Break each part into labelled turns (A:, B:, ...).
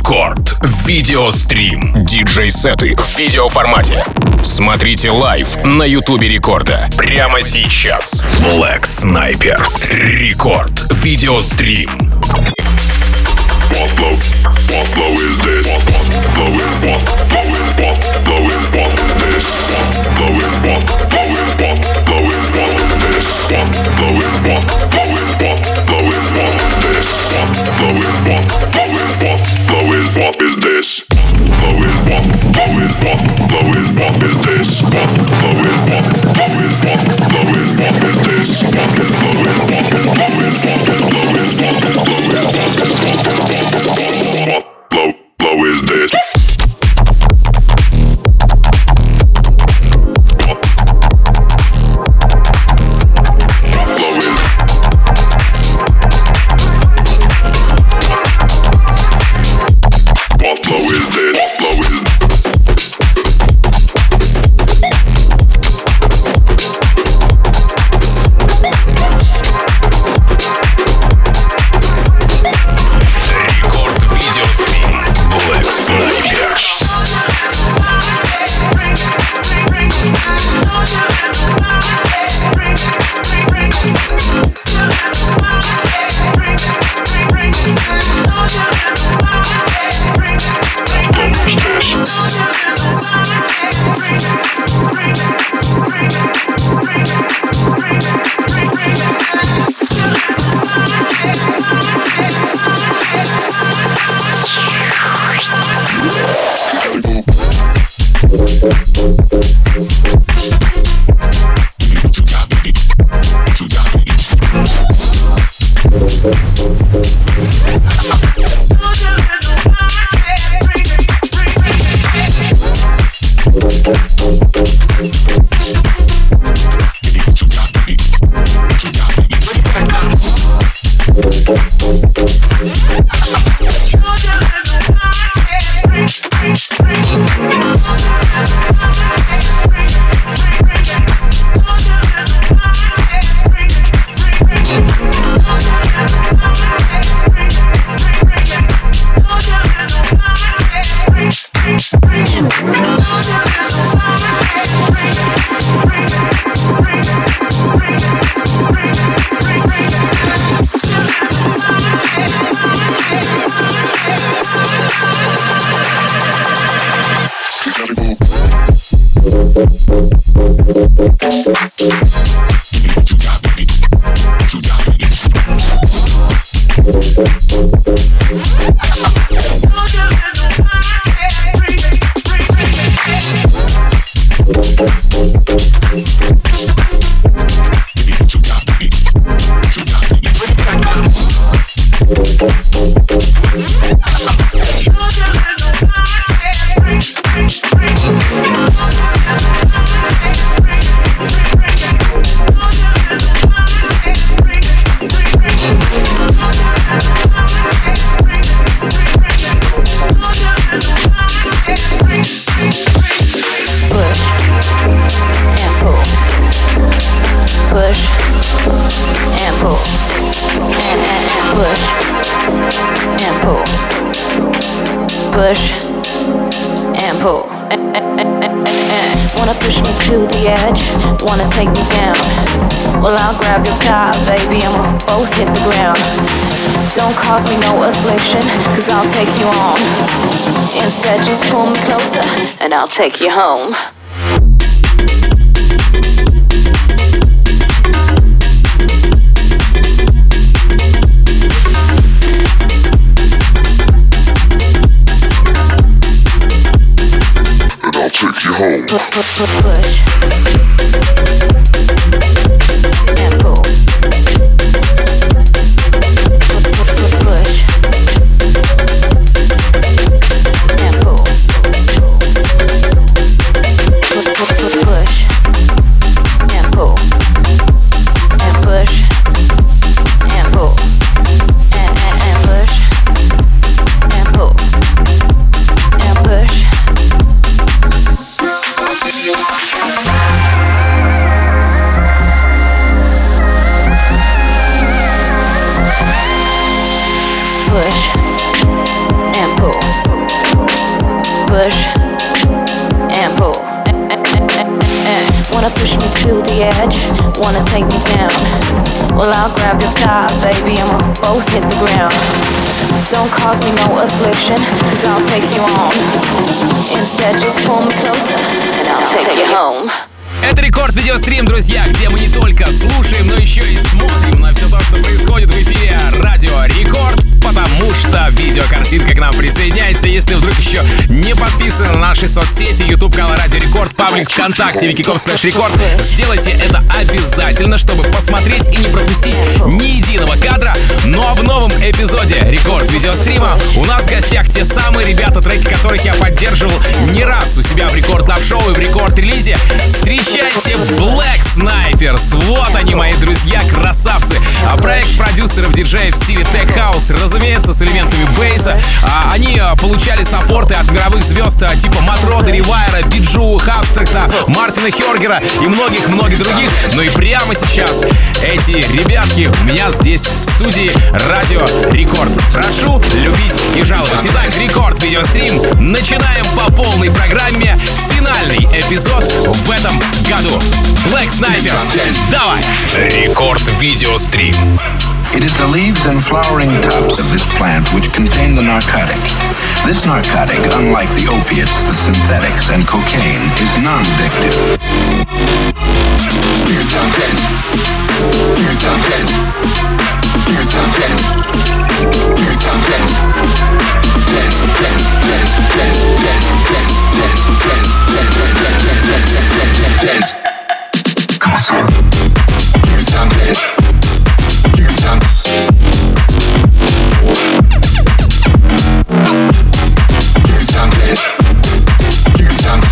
A: Рекорд. Видеострим. Диджей-сеты в видеоформате. Смотрите лайв на Ютубе Рекорда. Прямо сейчас. Black Snipers. Рекорд. Видеострим.
B: What blow is this? Blow is what? Blow is what? Blow is what is this? Blow is what? Blow is what? Blow is what is this? Blow is what? Blow is what? Blow is what is this? Blow is what? Blow is what? Blow is what is this? Blow is what? Blow is what? Blow is what is this? Blow is what? Blow is what? Blow is what is this? Blow is what? Is blow is what? Is blow is what? Is blow is what? Is blow is what? Blow is this?
C: I'll take you home.
B: And I'll take you home.
C: Push. And pull. Push. And pull. Push and pull and push and pull and push and pull and push. Wanna push me to the edge, wanna take me down. Well, I'll grab your top, baby, and we'll both hit the ground. Don't cause me no affliction, cause I'll take you on. Instead, just pull me closer, and I'll take you home.
A: Это Рекорд Видеострим, друзья, где мы не только слушаем, но еще и смотрим на все то, что происходит в эфире Радио Рекорд, потому что видеокартинка к нам присоединяется. Если вдруг еще не подписаны на наши соцсети, YouTube канал Радио Рекорд, паблик ВКонтакте, wiki.com/рекорд, сделайте это обязательно, чтобы посмотреть и не пропустить ни единого кадра. Ну а в новом эпизоде Рекорд Видеострима у нас в гостях те самые ребята, треки которых я поддерживал не раз у себя в Рекорд Лав Шоу и в Рекорд Релизе. Встречайте Black Snipers. Вот они, мои друзья, красавцы. Проект продюсеров диджеев в стиле Tech House, разумеется, с элементами бейса. Они получали саппорты от мировых звезд типа Матрода, Ревайра, Биджу, Хабстракта, Мартина Хёргера и многих-многих других. Ну и прямо сейчас эти ребятки у меня здесь в студии Радио Рекорд. Прошу любить и жаловать. Итак, Рекорд Видеострим. Начинаем по полной программе. Финальный эпизод в этом году. Black Snipers. Давай! Рекорд Видеострим.
D: It is the leaves and flowering tufts of this plant which contain the narcotic. This narcotic, unlike the opiates, the synthetics, and cocaine, is non-addictive. Here's some dance. Here's some dance. Here's some dance. Here's some dance. Dance, dance, dance, dance, dance, dance, dance, dance, dance, dance. Come on. Here's some dance. Here's some. Here's some dance. Here's some.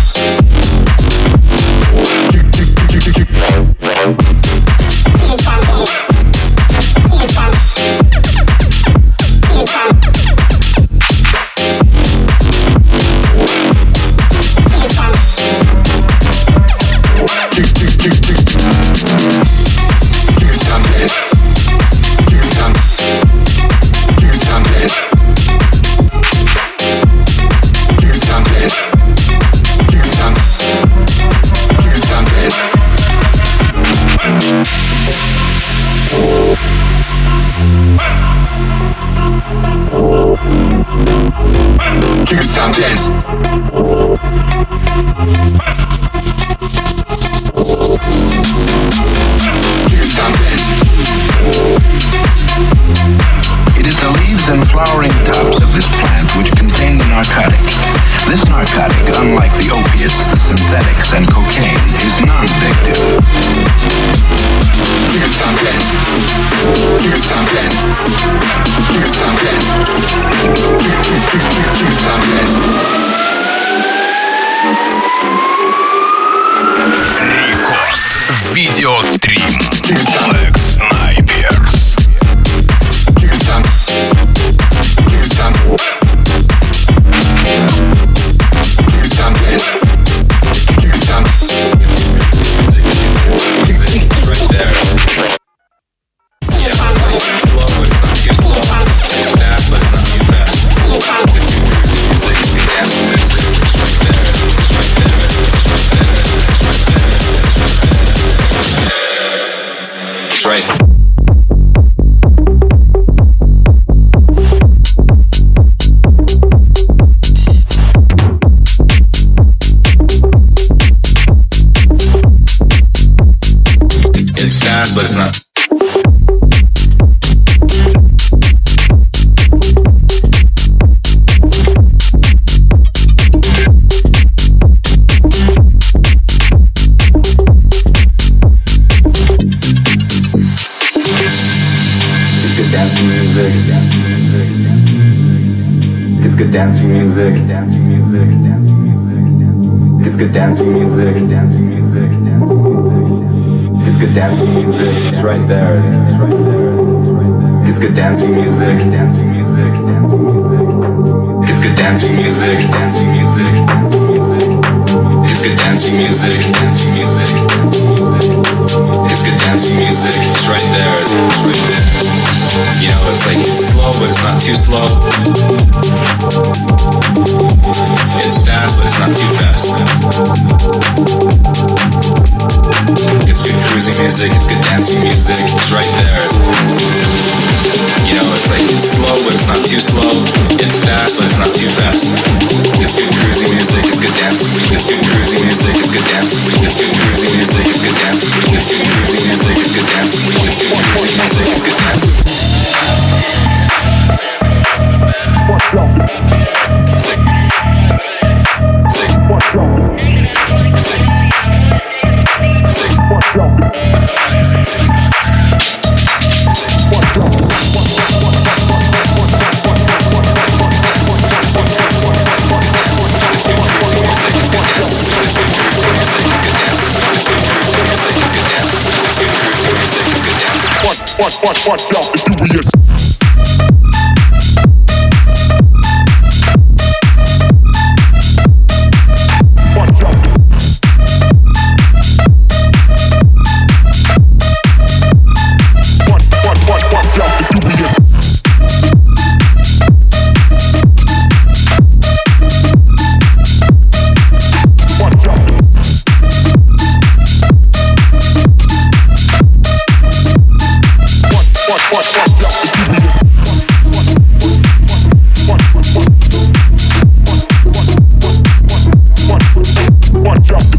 D: It is the leaves and flowering tufts of this plant which contain the narcotic. This narcotic, unlike the opiates, the synthetics, and cocaine, is non-addictive. Here's some dance. Here's some dance. Here's some dance. Here's some dance.
A: Рекорд Видеострим. Black Snipers.
D: Here's some. Here's some. Here's some dance. Here's some.
E: Right there. Yeah, it's slow, but it's not too slow. It's fast, but it's not too fast. It's music, it's good dancing music. It's right there, it's right there, it's right there, it's right there, it's right there. It's right. It's fast, but it's not. It's good dancing music. It's good dancing music. It's good dancing music. It's right there. It's right there. It's good dancing music. It's good dancing music. It's good dancing music. It's good dancing music. It's right there. It's right there. You know, it's like it's slow, but it's not too slow. It's fast, but it's not too fast. fast, but it's not too fast. It's good cruisy music, it's good dance. It's good cruisy music, it's good dance. It's good cruisy music, it's good dance. It's good cruisy music, it's good dance. It's good cruisy music, it's good dance. Sick. Sick. Sick. Sick.
B: Watch out, the dubious. Watch out. Watch out, the dubious. Watch out. Watch out, the dubious. Watch out.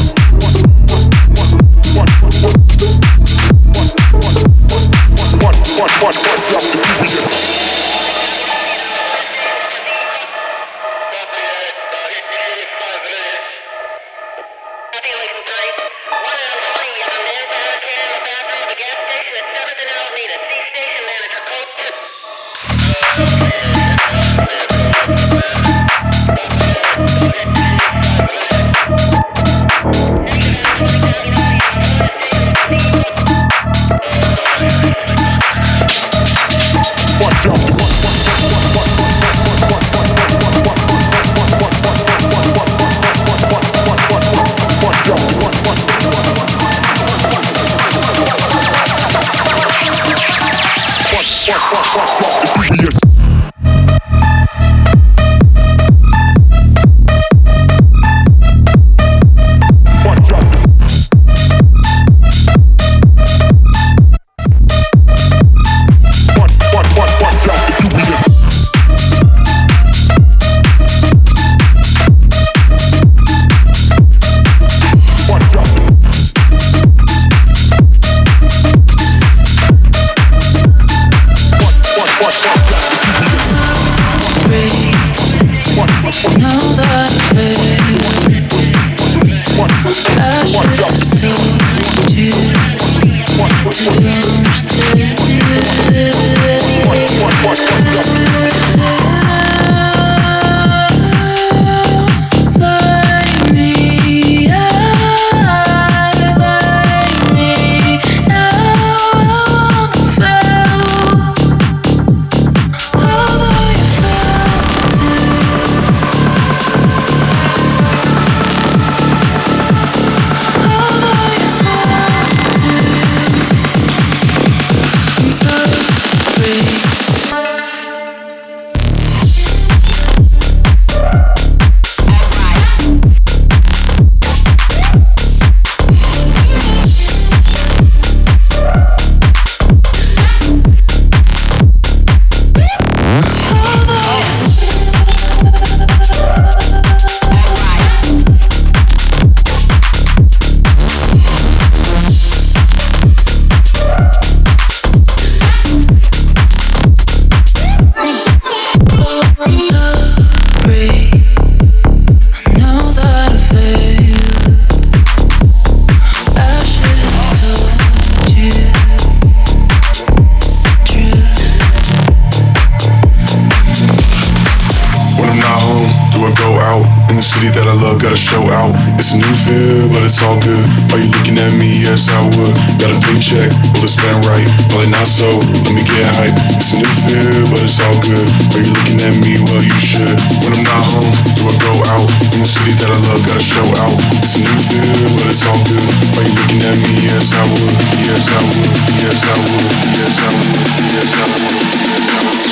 F: Gotta show out. It's a new feel, but it's all good. Are you looking at me? Yes, I would. Got a paycheck, will it spend right? Probably not so, let me get hype. It's a new feel, but it's all good. Are you looking at me? Well, you should. When I'm not home, do I go out? In the city that I love, gotta show out. It's a new feel, but it's all good. Are you looking at me? Yes, I would. Yes, I would. Yes, I would. Yes, I would. Yes, I would. Yes, I would.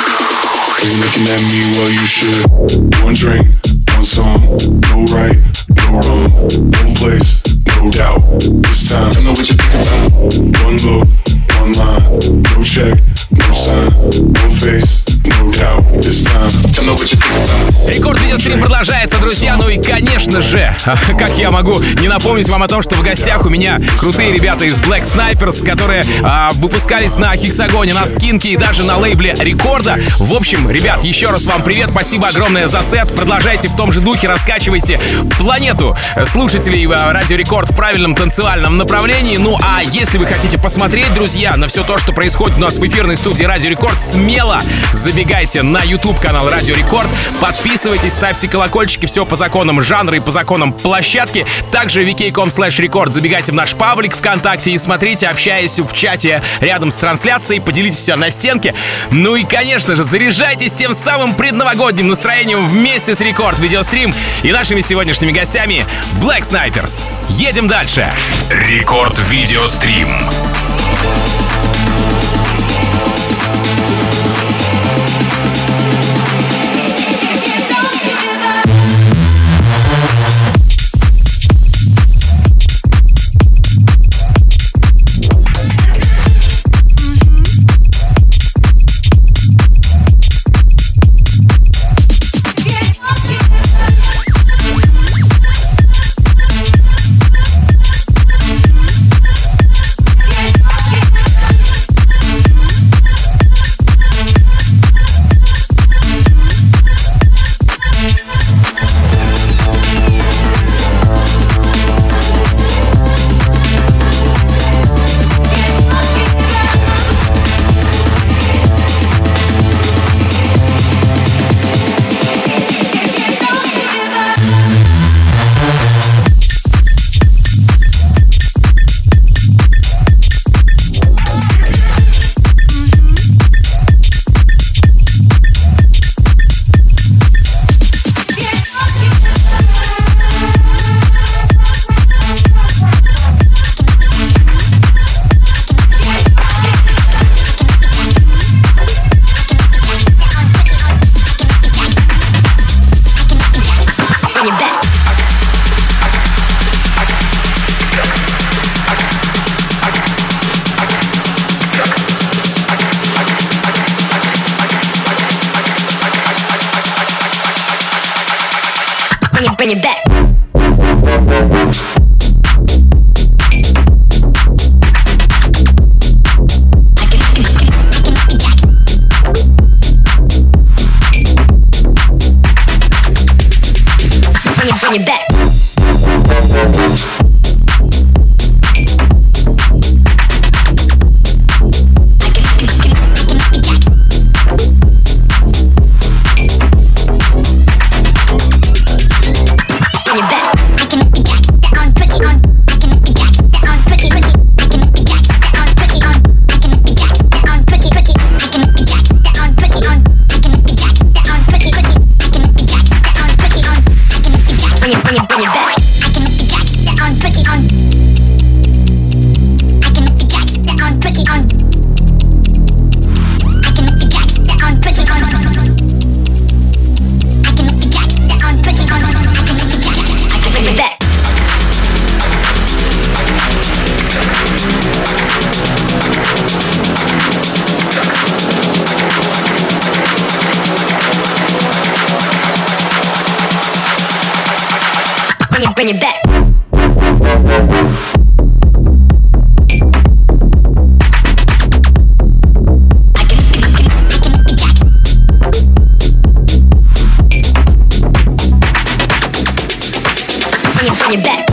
F: Are you looking at me? Well, you should. One drink, one song, no right, no wrong, one place, no doubt. This time, I know what you think about. One look, one line, no check, no sign, one face, no doubt. This time, I know
A: Видеострим продолжается, друзья. Ну и, конечно же, как я могу не напомнить вам о том, что в гостях у меня крутые ребята из Black Snipers, которые выпускались на Хексагоне, на Скинке и даже на лейбле Рекорда. В общем, ребят, еще раз вам привет, спасибо огромное за сет. Продолжайте в том же духе, раскачивайте планету слушателей Радио Рекорд в правильном танцевальном направлении. Ну а если вы хотите посмотреть, друзья, на все то, что происходит у нас в эфирной студии Радио Рекорд, смело забегайте на YouTube-канал Радио Рекорд, подписывайтесь, ставьте колокольчики, все по законам жанра и по законам площадки. Также vk.com/record забегайте в наш паблик ВКонтакте и смотрите, общаясь в чате рядом с трансляцией, поделитесь все на стенке. Ну и, конечно же, заряжайтесь тем самым предновогодним настроением вместе с Рекорд Видеострим и нашими сегодняшними гостями Black Snipers. Едем дальше.
G: Рекорд Видеострим.
H: Bring it back. Bring it back. Bring it back. Bring it back.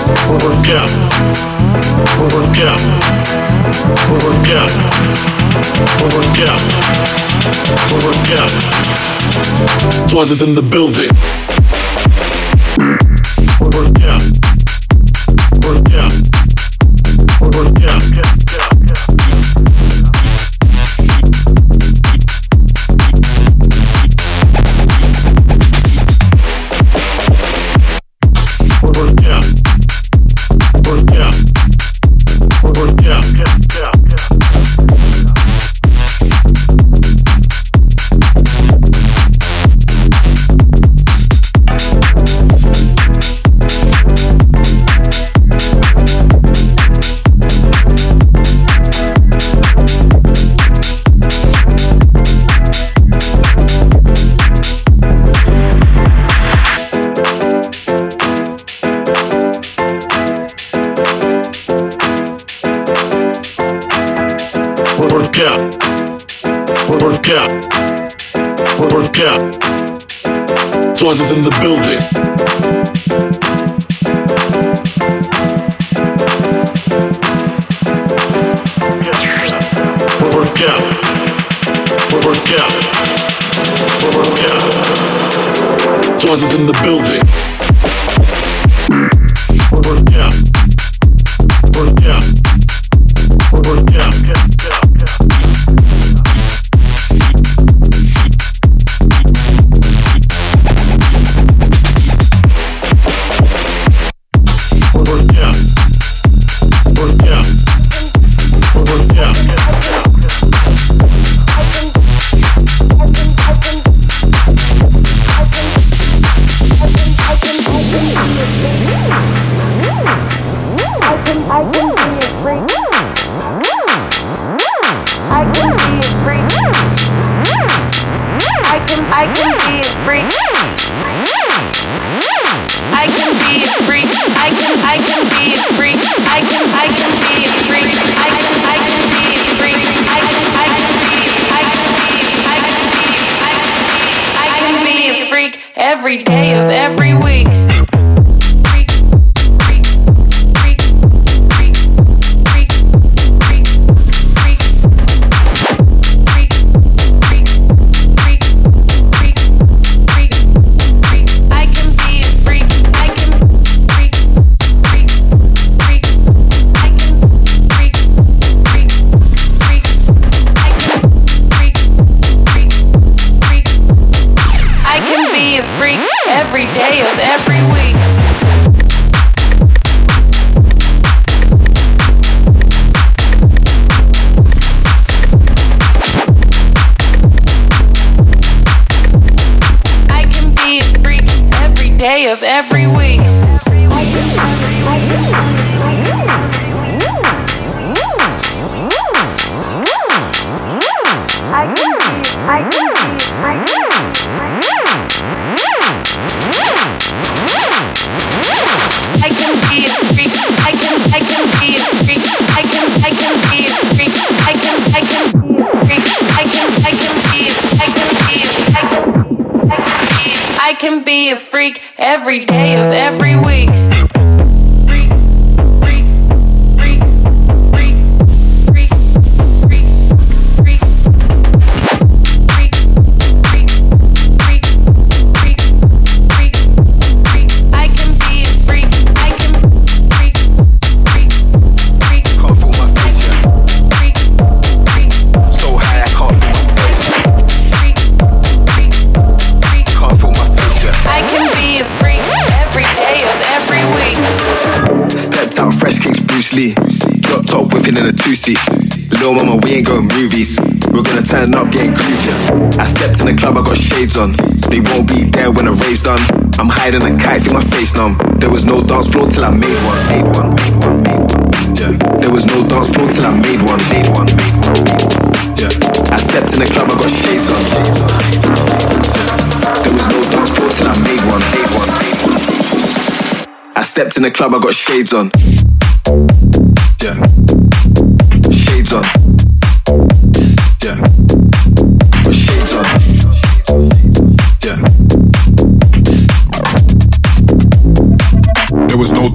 B: Work out. Work out. Work out. Work out. Work out. Swaz is in the building. Work out. Work out. Work out. Swaz is in the building. Work out. Work out. Work out. Swaz is in the building. Work out. Work out. Work out.
C: Every day of every week. Every day of every week. I can be a freak every day of every week. I can be a freak every day of every week. Freak, freak, freak, freak, freak, freak, freak, freak, freak, freak, freak, freak, freak. I can be a freak. I can freak, freak, freak.
I: Can't feel my face yet.
C: Freak, freak.
I: So high I can't feel my face.
C: Freak, freak, freak.
I: Can't feel my face yet.
C: I can be a freak every day of every week.
I: Stepped out fresh kicks Bruce Lee. Drop top whipping in a two-seat. Little mama, we ain't going movies. We're gonna turn up, getting groovier. I stepped in the club, I got shades on. They won't be there when the rave's done. I'm hiding a kite, feel my face numb. There was no dance floor till I made one. Yeah. There was no dance floor till I made one. Yeah. I stepped in the club, I got shades on. There was no dance floor till I made one. I stepped in the club, I got shades on. Yeah. Shades on. Yeah. Got shades on. Yeah.
F: There was no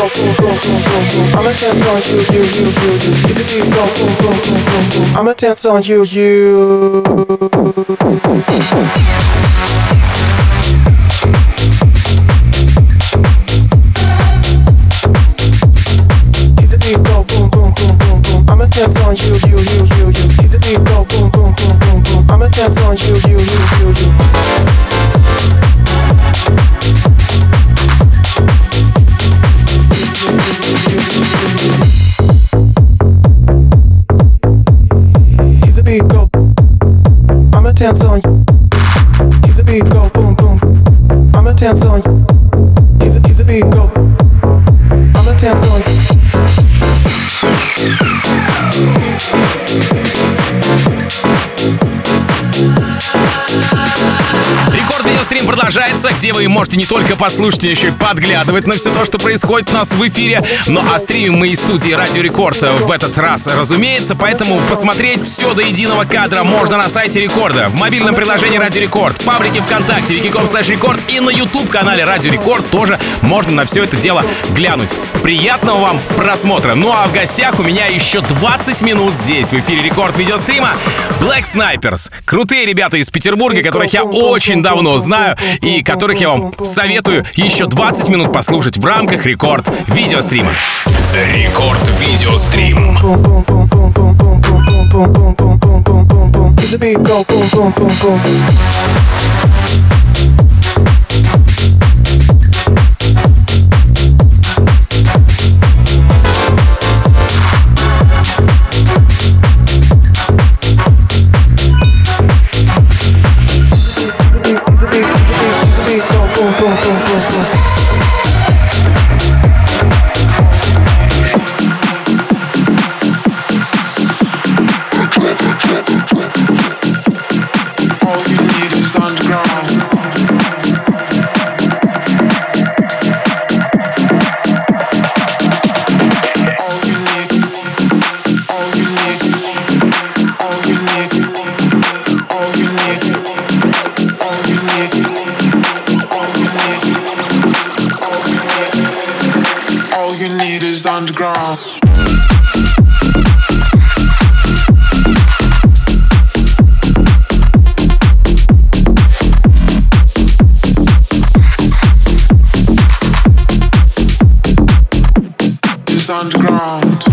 J: go boom boom boom boom boom, I'ma dance on you. If the beat go boom boom boom boom boom, I'ma dance on you. If the beat go boom boom boom boom boom, I'ma dance on you. If the beat go boom boom boom boom boom, I'ma dance on you. If the beat go, I'ma dance on you. If the beat go boom boom, I'ma dance on you. If the beat go, I'ma dance on you.
A: Рекорд Видеострим продолжается, где вы можете не только послушать, но еще и подглядывать на все то, что происходит у нас в эфире. Ну а стримим мы из студии Радио Рекорд в этот раз, разумеется, поэтому посмотреть все до единого кадра можно на сайте Рекорда, в мобильном приложении Радио Рекорд, в паблике ВКонтакте, wiki.com/рекорд и на YouTube-канале Радио Рекорд тоже можно на все это дело глянуть. Приятного вам просмотра. Ну а в гостях у меня еще 20 минут здесь, в эфире Рекорд Видеострима, Black Snipers. Крутые ребята из Петербурга, которых я очень давно знаю и которых я вам советую еще 20 минут послушать в рамках Рекорд Видеострима.
G: Рекорд Видеострим.
J: If the beat go boom boom boom boom.
K: Underground. It's underground.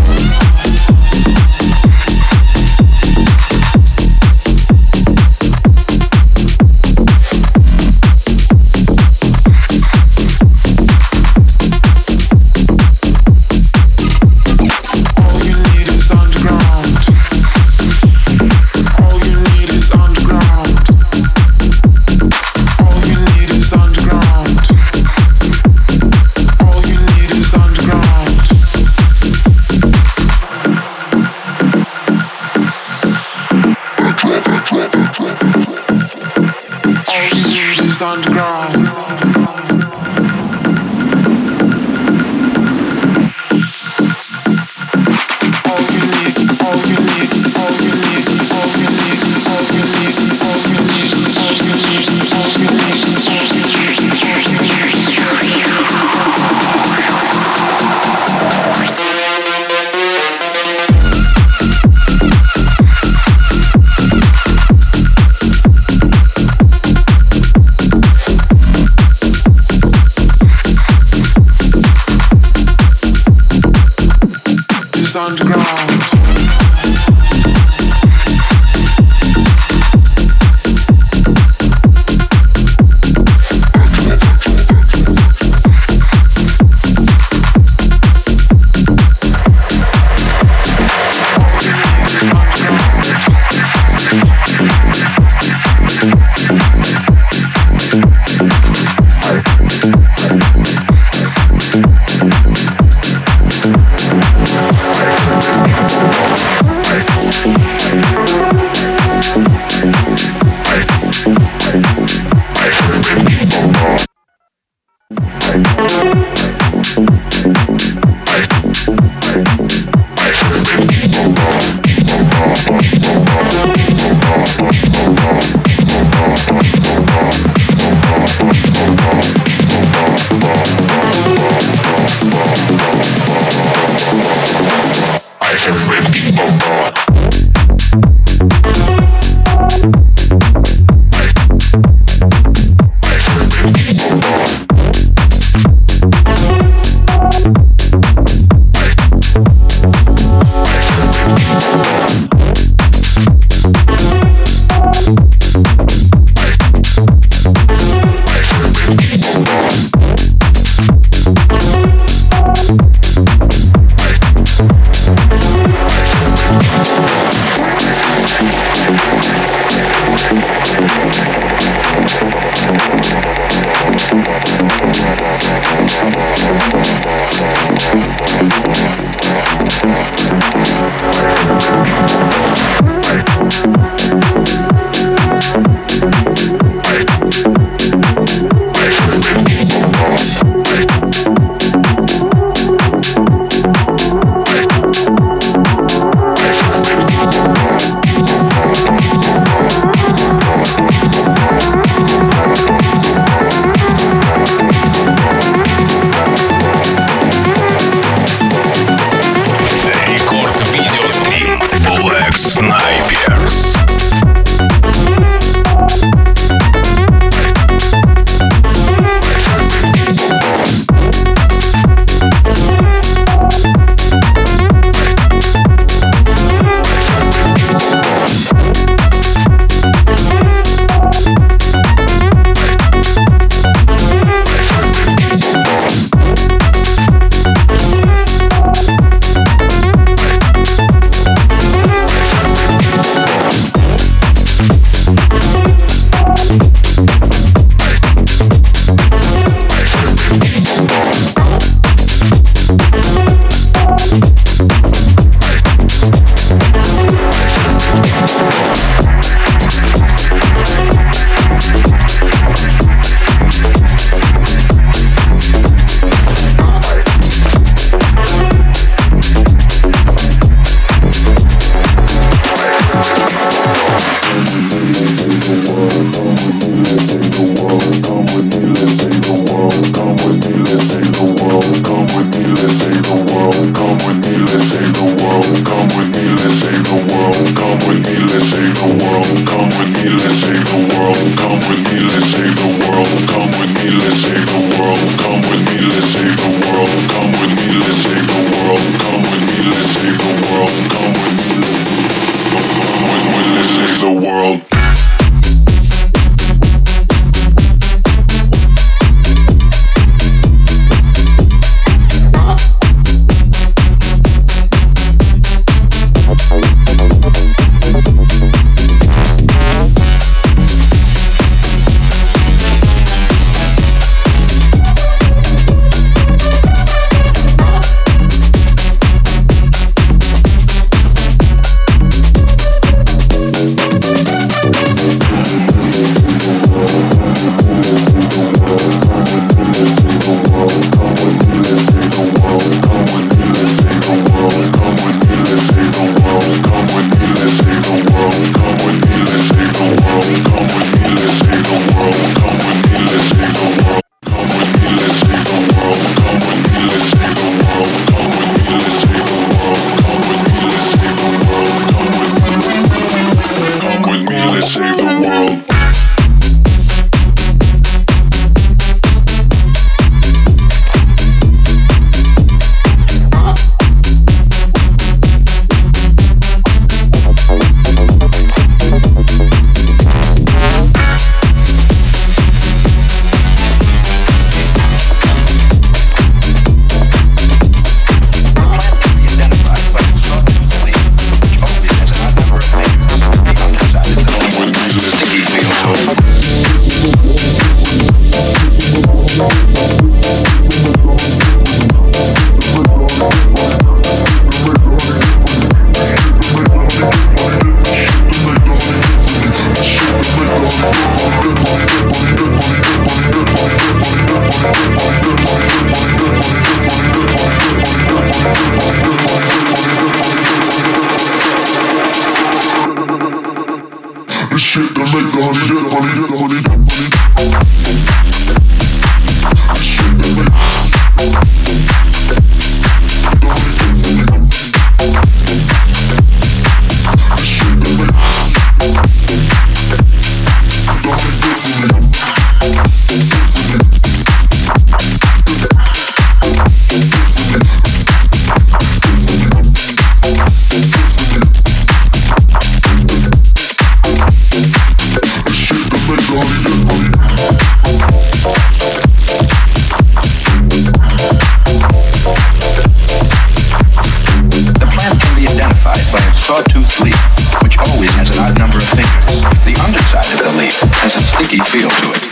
D: sawtooth leaf, which always has an odd number of fingers. The underside of the leaf has a sticky feel to it.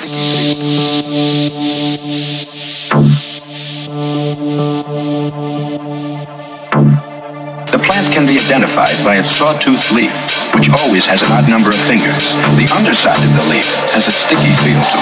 D: The plant can be identified by its sawtooth leaf, which always has an odd number of fingers. The underside of the leaf has a sticky feel to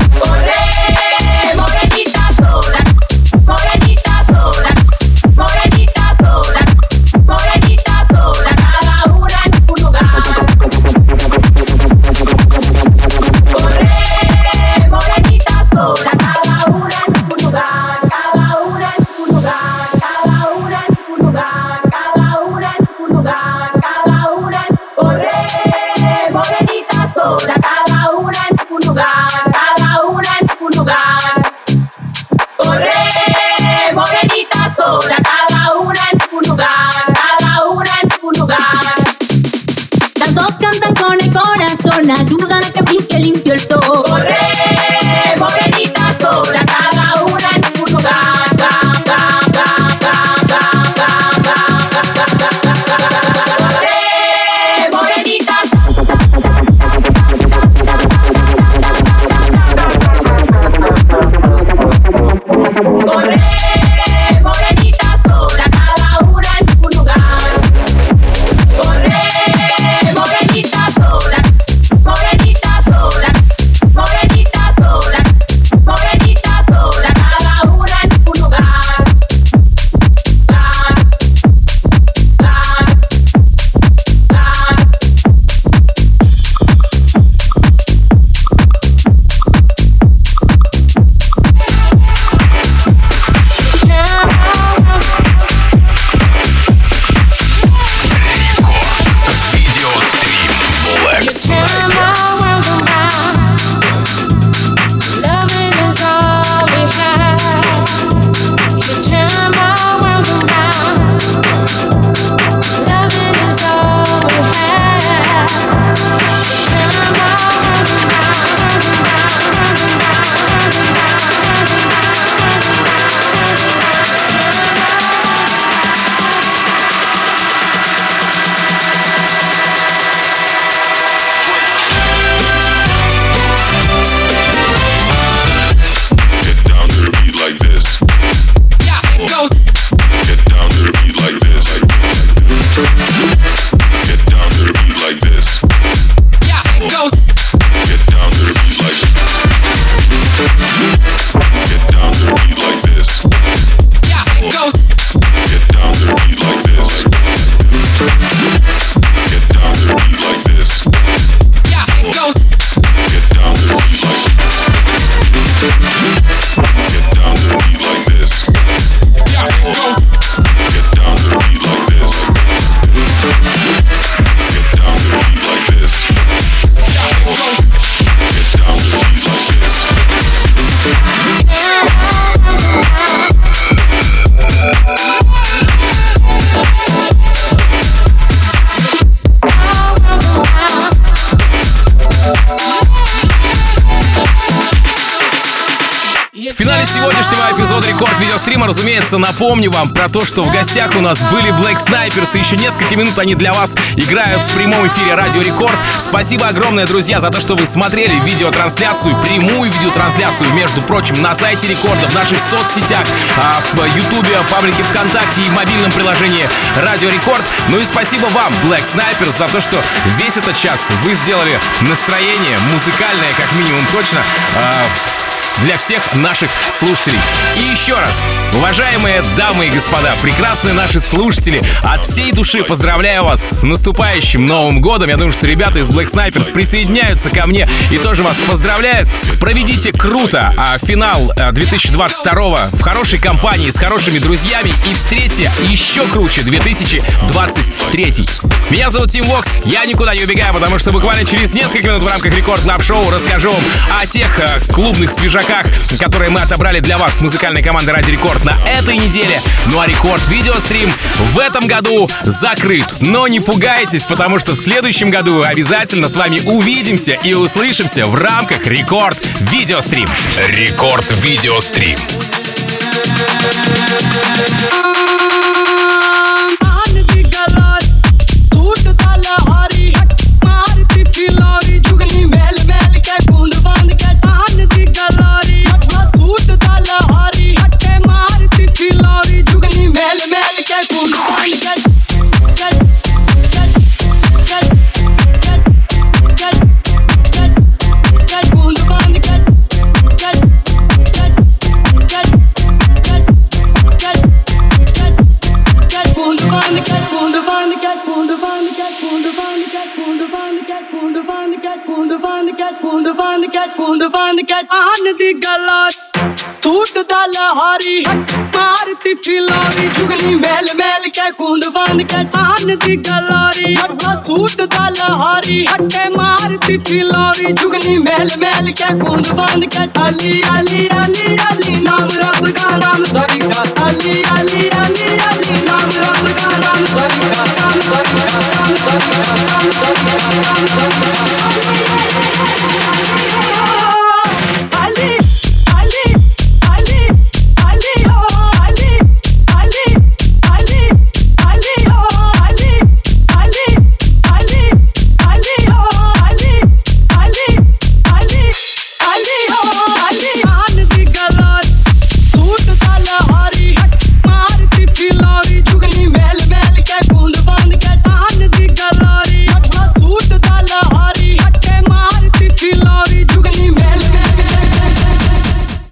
L: Morenita
A: финале сегодняшнего эпизода Рекорд Видеострима, разумеется, напомню вам про то, что в гостях у нас были Black Snipers, и еще несколько минут они для вас играют в прямом эфире Радио Рекорд. Спасибо огромное, друзья, за то, что вы смотрели видеотрансляцию, прямую видеотрансляцию, между прочим, на сайте Рекорда, в наших соцсетях, в Ютубе, паблике ВКонтакте и в мобильном приложении Радио Рекорд. Ну и спасибо вам, Black Snipers, за то, что весь этот час вы сделали настроение музыкальное, как минимум, точно, для всех наших слушателей. И еще раз, уважаемые дамы и господа, прекрасные наши слушатели, от всей души поздравляю вас с наступающим Новым годом. Я думаю, что ребята из Black Snipers присоединяются ко мне и тоже вас поздравляют. Проведите круто финал 2022 в хорошей компании, с хорошими друзьями, и встретьте еще круче 2023. Меня зовут Тим Вокс, я никуда не убегаю, потому что буквально через несколько минут в рамках Рекорд Клаб Шоу расскажу вам о тех клубных свежаках, которые мы отобрали для вас с музыкальной командой Радио Рекорд на этой неделе. Ну а Рекорд Видеострим в этом году закрыт. Но не пугайтесь, потому что в следующем году обязательно с вами увидимся и услышимся в рамках Рекорд Видеострим.
G: Рекорд Видеострим.
L: ਦੀ ਗੱਲਾਂ ਟੂਟ ਦਾ ਲਹਾਰੀ ਮਾਰਤੀ ਫਿਲਾਰੀ ਜੁਗਨੀ ਮੈਲ ਮੈਲ ਕੇ ਕੁੰਡ ਵੰਡ ਕੇ ਚਾਨ ਦੀ ਗੱਲਾਰੀ ਅੱਡਾ ਸੂਟ ਦਾ ਲਹਾਰੀ ਹੱਟੇ ਮਾਰਤੀ ਫਿਲਾਰੀ ਜੁਗਨੀ ਮੈਲ ਮੈਲ ਕੇ ਕੁੰਡ ਵੰਡ ਕੇ ਅਲੀ ਅਲੀ ਅਲੀ ਅਲੀ ਨਾਮ ਰੱਬ ਦਾ ਨਾਮ ਸਰੀ ਦਾ ਅਲੀ ਅਲੀ ਅਲੀ ਅਲੀ ਨਾਮ ਰੱਬ ਦਾ ਨਾਮ ਸਰੀ ਦਾ ਨਾਮ ਸਰੀ ਦਾ ਨਾਮ ਸਰੀ ਦਾ ਨਾਮ ਸਰੀ ਦਾ ਨਾਮ ਸਰੀ ਦਾ